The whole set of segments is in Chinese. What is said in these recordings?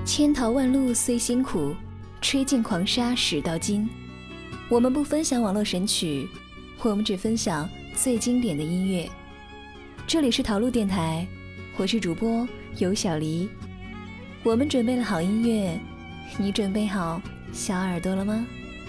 千淘万漉虽辛苦，吹尽狂沙始到金。我们不分享网络神曲，我们只分享最经典的音乐。这里是淘路电台，我是主播尤小黎。我们准备了好音乐，你准备好小耳朵了吗？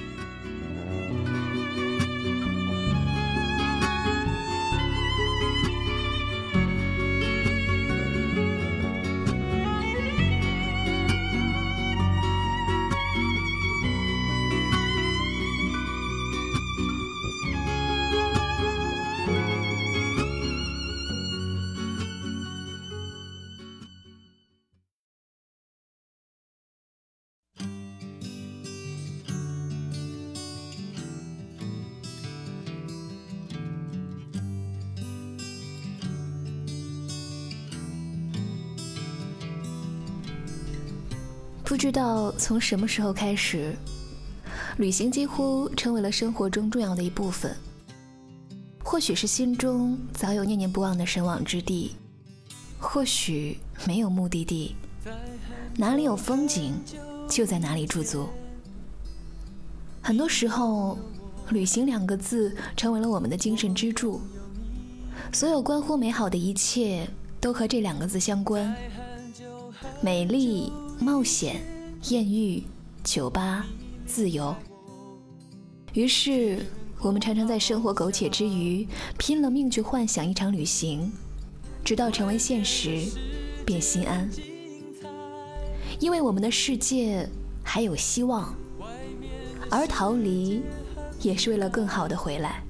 不知道从什么时候开始，旅行几乎成为了生活中重要的一部分。或许是心中早有念念不忘的神往之地，或许没有目的地，哪里有风景就在哪里驻足。很多时候，旅行2个字成为了我们的精神支柱，所有关乎美好的一切都和这2个字相关。美丽、冒险、艳遇、酒吧、自由。于是我们常常在生活苟且之余，拼了命去幻想一场旅行，直到成为现实便心安。因为我们的世界还有希望，而逃离也是为了更好的回来。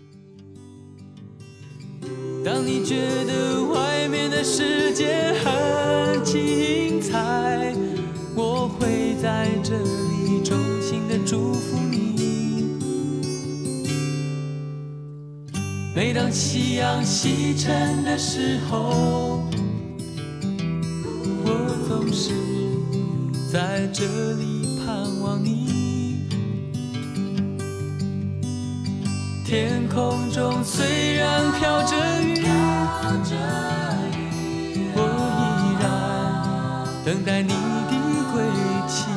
当你觉得外面的世界很精彩，我会在这里衷心的祝福你。每当夕阳西沉的时候，我总是在这里盼望你。天空中虽然飘着雨，我依然等待你的归期。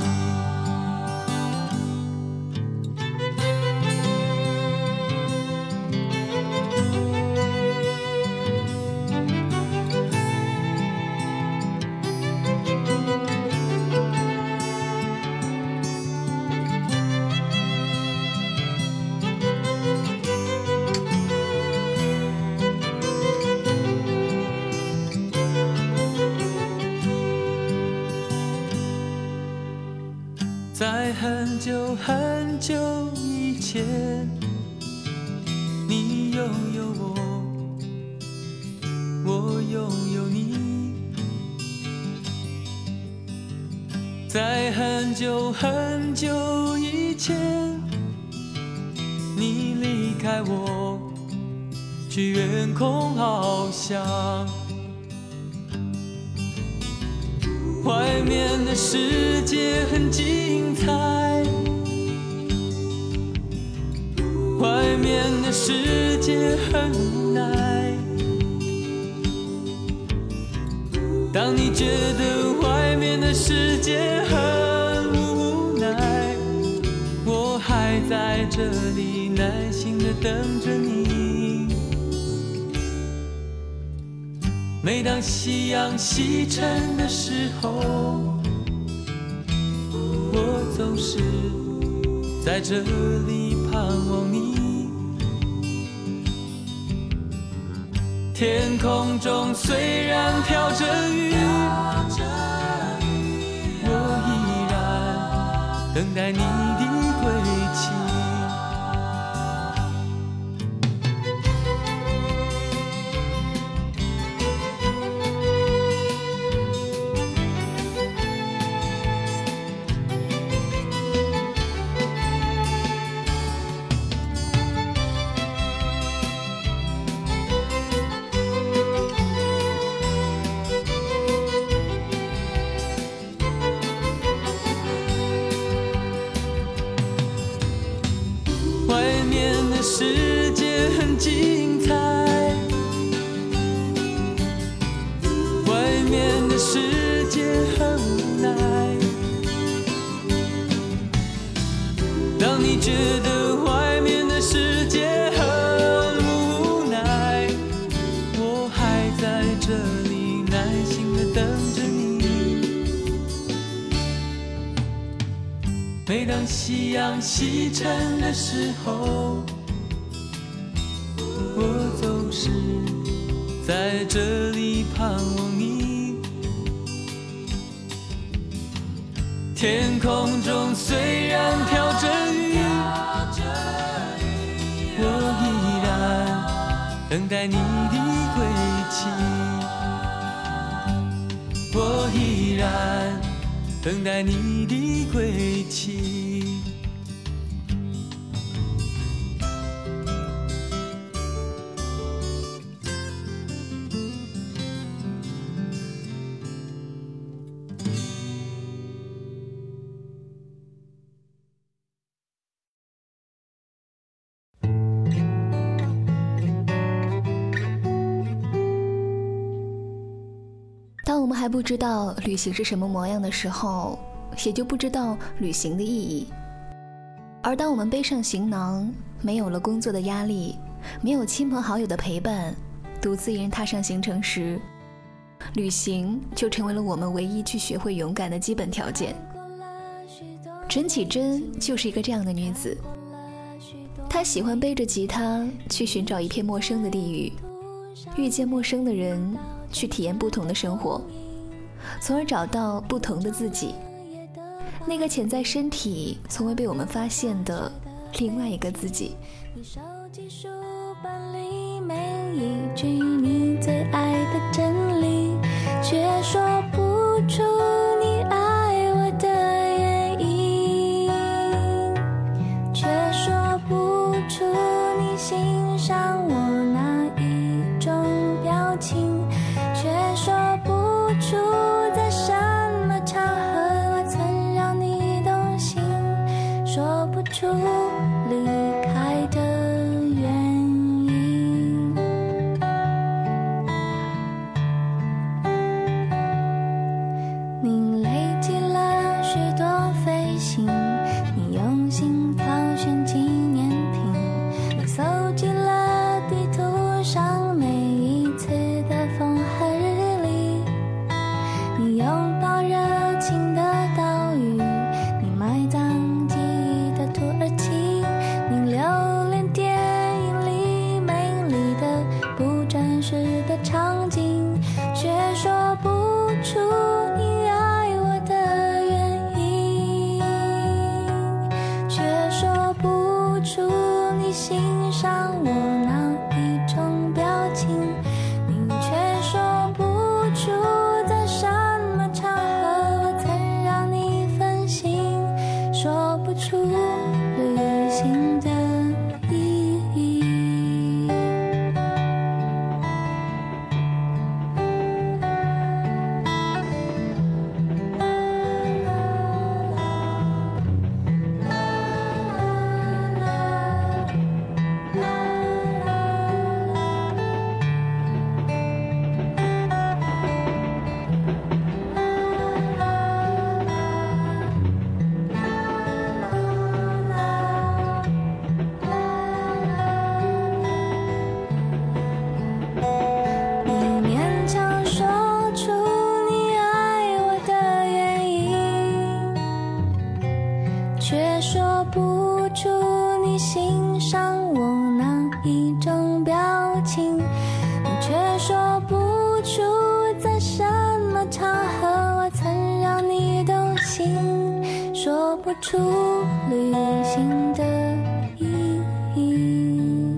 在很久很久以前，你拥有我，我拥有你。在很久很久以前，你离开我，去远空翱翔。外面的世界很精彩，外面的世界很无奈。当你觉得外面的世界很无奈，我还在这里耐心地等着你。每当夕阳西沉的时候，我总是在这里盼望你。天空中虽然飘着雨，我依然等待你的归期。世界很精彩，外面的世界很无奈。 每当夕阳西沉的时候，我总是在这里盼望你。天空中虽然飘着雨，我依然等待你的归期。我依然等待你的归期。 当我们还不知道旅行是什么模样的时候，也就不知道旅行的意义。而当我们背上行囊，没有了工作的压力，没有亲朋好友的陪伴，独自一人踏上行程时，旅行就成为了我们唯一去学会勇敢的基本条件。陈绮贞就是一个这样的女子，她喜欢背着吉他去寻找一片陌生的地域，遇见陌生的人，去体验不同的生活，从而找到不同的自己，那个潜在身体从未被我们发现的另外一个自己。 你手机书本里每一句你最爱的真理，却说不出你爱我的原因，却说不出你欣赏我哪一种表情，却说不出在什么场合我曾让你动心，说不出离开的原因。你累积了许多飞行，你用心挑选纪念品，你搜集了地图上每一次的风和日丽，你拥抱热情的岛屿，你埋葬记忆的土耳其，你留恋电影里美丽的不真实的场景，却说不出你爱我的原因，却说不出你欣赏我哪一种表情，你却说不出在什么场合我曾让你分心，说不出旅行的意义。你勉强说出你爱我的原因，却说不出你欣赏我哪一种表情，你却说不出在什么场合我曾让你动心，说不出旅行的意义，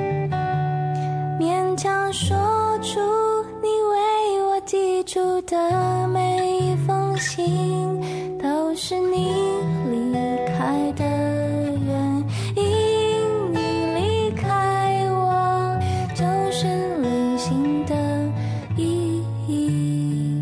勉强说出你为我寄出的每一封信都是你离开的原因，你离开我就是旅行的意义。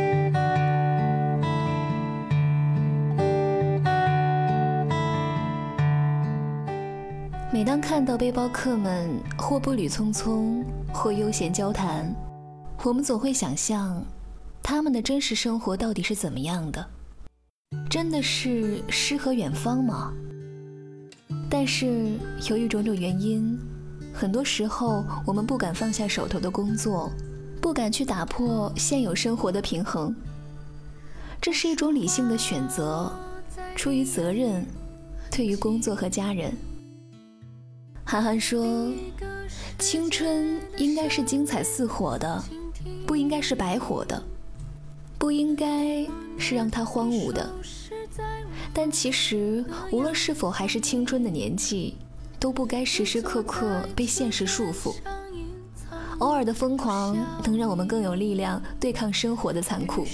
每当看到背包客们或步履匆匆，或悠闲交谈，我们总会想象他们的真实生活到底是怎么样的，真的是诗和远方吗？但是由于种种原因，很多时候我们不敢放下手头的工作，不敢去打破现有生活的平衡。这是一种理性的选择， 出于责任，对于工作和家人。韩寒说，青春应该是精彩似火的，不应该是白活的，不应该是让它荒芜的。但其实无论是否还是青春的年纪，都不该时时刻刻被现实束缚。偶尔的疯狂能让我们更有力量对抗生活的残酷。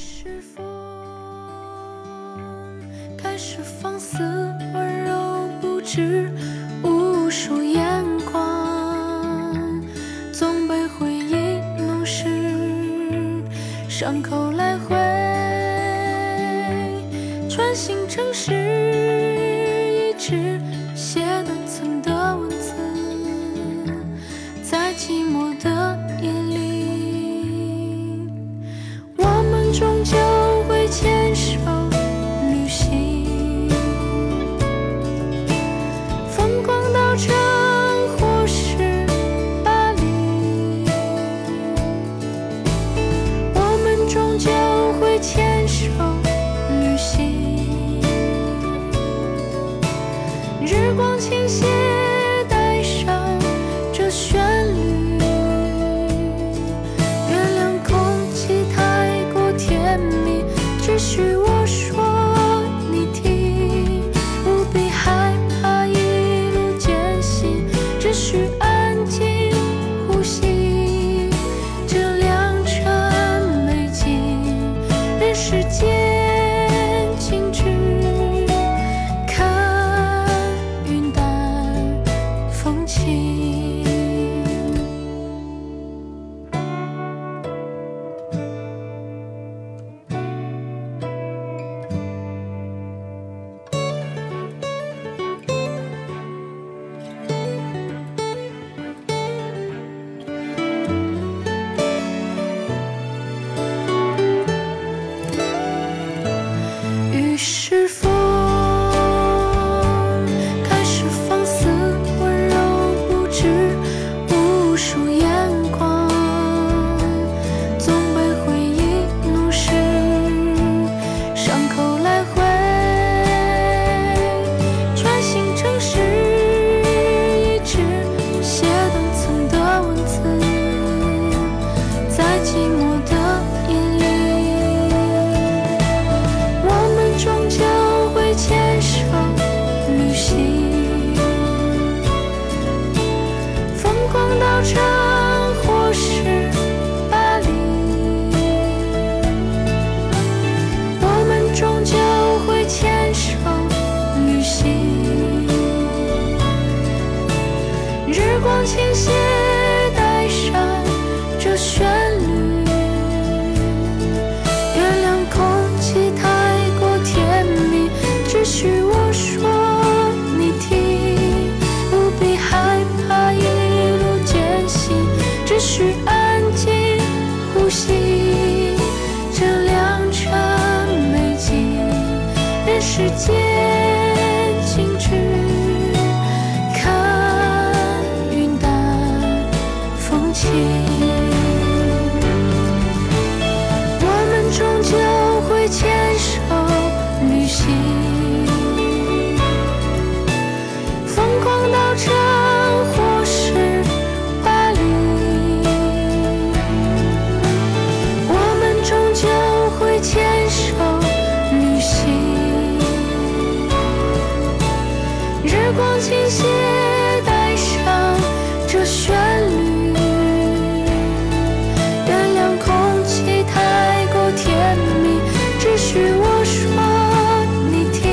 开始放肆温柔不止无数眼光，总被回忆弄湿，伤口来回穿行城市，一直写断层的文字，在寂寞的夜里，我们终究会牵手旅行，疯狂到城或是巴黎，我们终究会牵手旅行，日光倾斜带上这旋律，原谅空气太过甜蜜，只许我说你听，不必害怕一路艰辛，只需安静呼吸，这良辰美景，人世间静止，看云淡风轻。于是风开始放肆温柔不止无数眼光，总被回忆弄湿，伤口来回穿行城市，一直写断层的文字，在寂寞的夜里，我们终究会牵手旅行，疯狂到城或是巴黎，我们终究会牵手旅行，日光倾斜带上这旋律，原谅空气太过甜蜜，只许我说你听，不必害怕一路艰辛，只需安静呼吸，这良辰美景，人世间静止，看云淡风轻。我们终究会牵手旅行，疯狂到城或是巴黎，我们终究会牵手旅行，日光倾斜带上这旋律，原谅空气太过甜蜜，只许我说你听，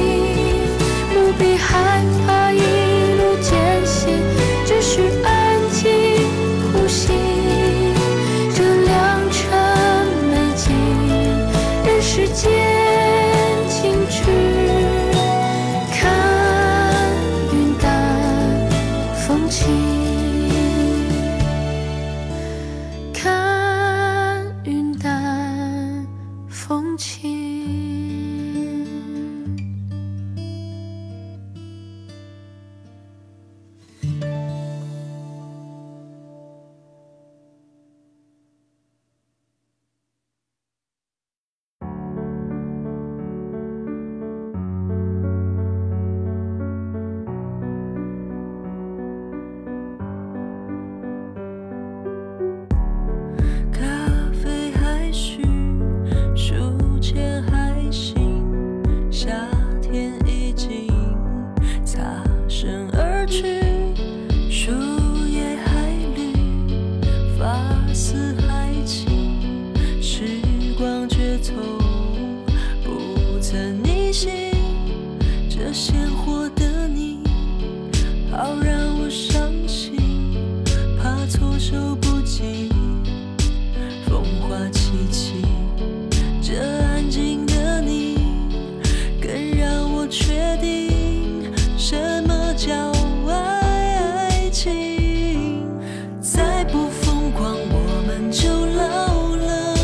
醒，这鲜活的你，好让我伤心，怕措手不及，风花凄凄。这安静的你，更让我确定什么叫爱情。再不疯狂，我们就老了。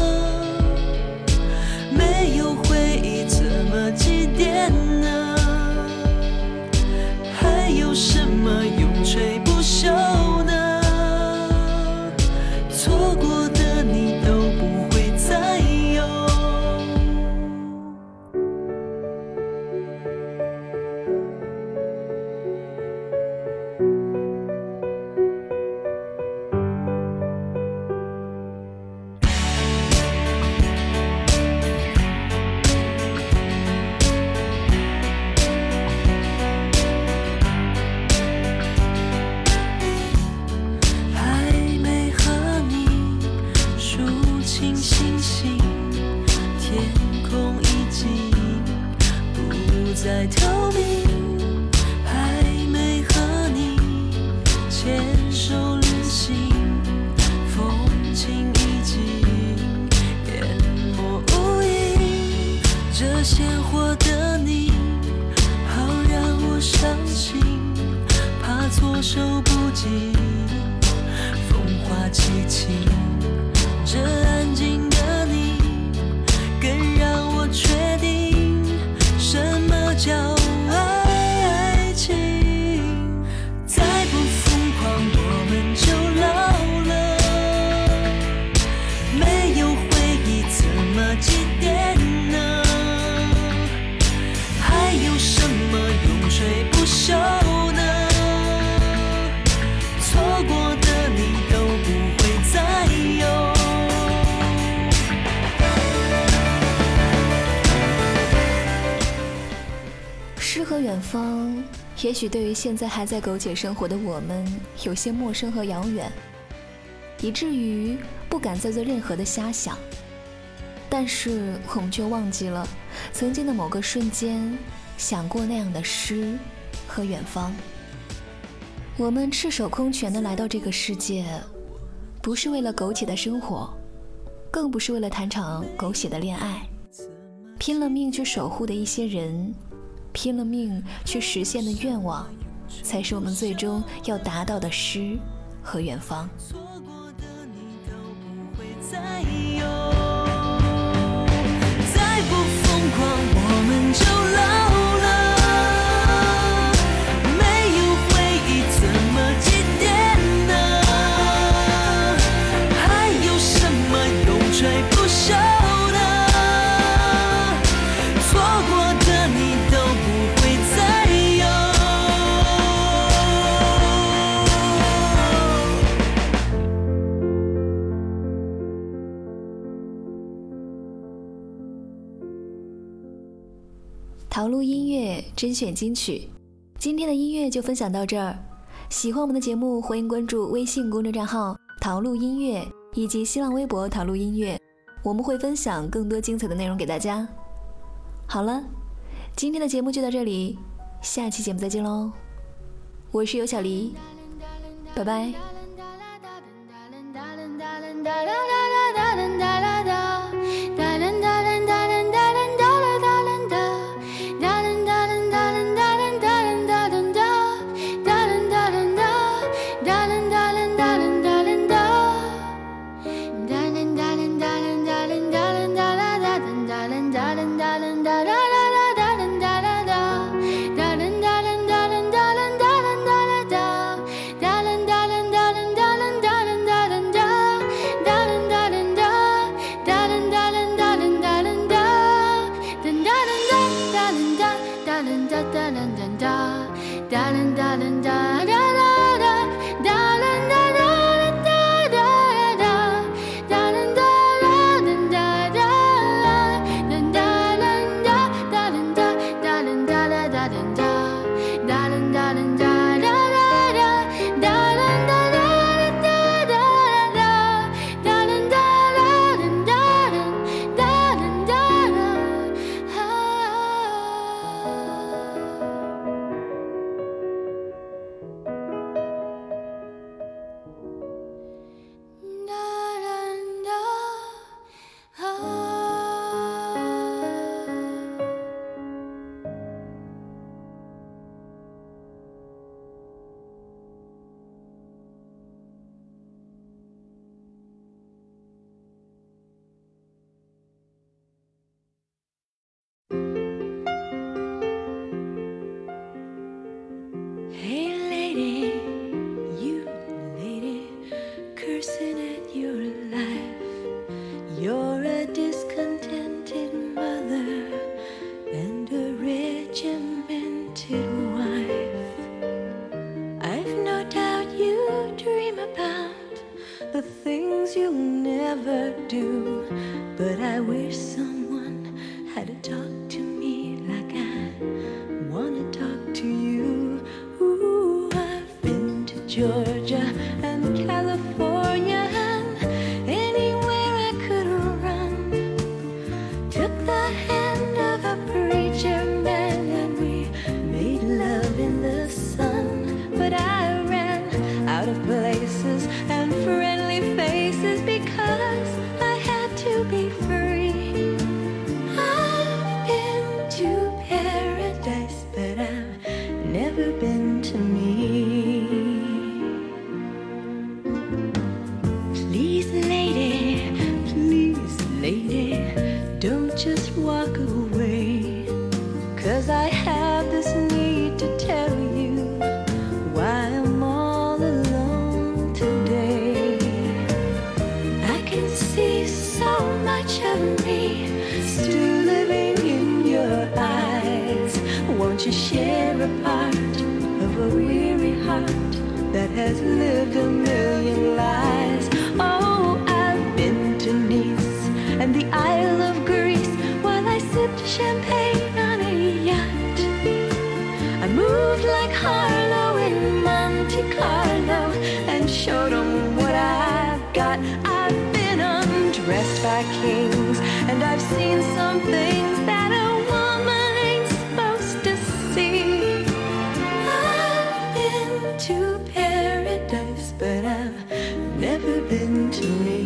没有回忆，怎么祭奠呢？还有什么永垂不朽呢？错过的你都不会再有。再透明，还没和你牵手旅行，风景已经淹没无影。这鲜活的你，好让我伤心，怕措手不及，风花凄凄。这安静的你，更让我确定什么叫爱情。再不疯狂，我们就老了。没有回忆，怎么祭奠呢？还有什么永垂不朽呢？错过的你都不会再有。 诗和远方，也许对于现在还在苟且生活的我们有些陌生和遥远，以至于不敢再做任何的瞎想。但是我们却忘记了曾经的某个瞬间想过那样的诗和远方。我们赤手空拳地来到这个世界，不是为了苟且的生活，更不是为了谈场狗血的恋爱，拼了命去守护的一些人，拼了命去实现的愿望，才是我们最终要达到的诗和远方。 错过的你都不会再有。再不疯狂，我们就老了。没有回忆，怎么祭奠呢？还有什么永垂不朽呢？错过的你都不会再有。 陶路音乐甄选金曲，今天的音乐就分享到这儿。喜欢我们的节目，欢迎关注微信公众账号陶路音乐以及新浪微博陶路音乐，我们会分享更多精彩的内容给大家。好了，今天的节目就到这里，下期节目再见喽！我是尤小黎，拜拜。 try to talk to me like I wanna talk to you. Ooh, I've been to Georgia and California and anywhere I could run. Took the hand of a preacher man and we made love in the sun. But I ran out of places and friendly faces because I had to be free. I've been to paradise, but I've never been to me. Please, lady, don't just walk away, 'cause I have this need to tell you why I'm all alone today. I can see so much of me still living in your eyes. Won't you share a part of a weary heart that has lived a million lives? Oh, I've been to Nice and the Isle of Greece while I sipped champagne on a yacht. I moved like Harlow in Monte Carlo and showed them what I've got. I've been undressed by kings and I've seen some things that a woman ain't supposed to see. I've been to paradise, but I've never been to me.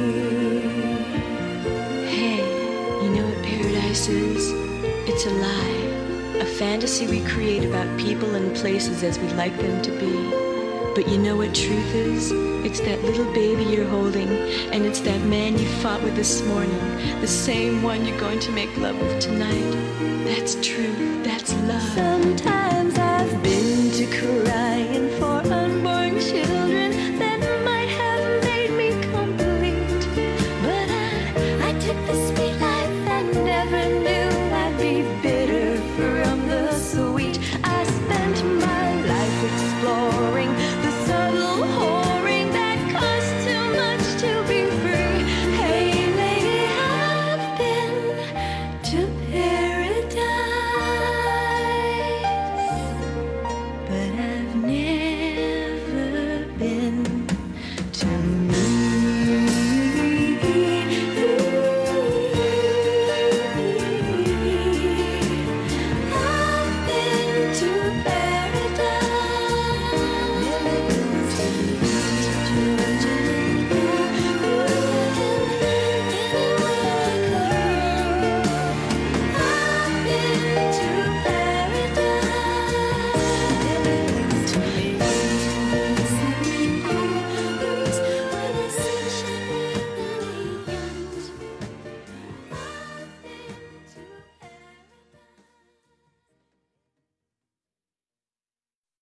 Hey, you know what paradise is? It's a lie. A fantasy we create about people and places as we'd like them to be. But you know what truth is? It's that little baby you're holding, and it's that man you fought with this morning, the same one you're going to make love with tonight. That's truth.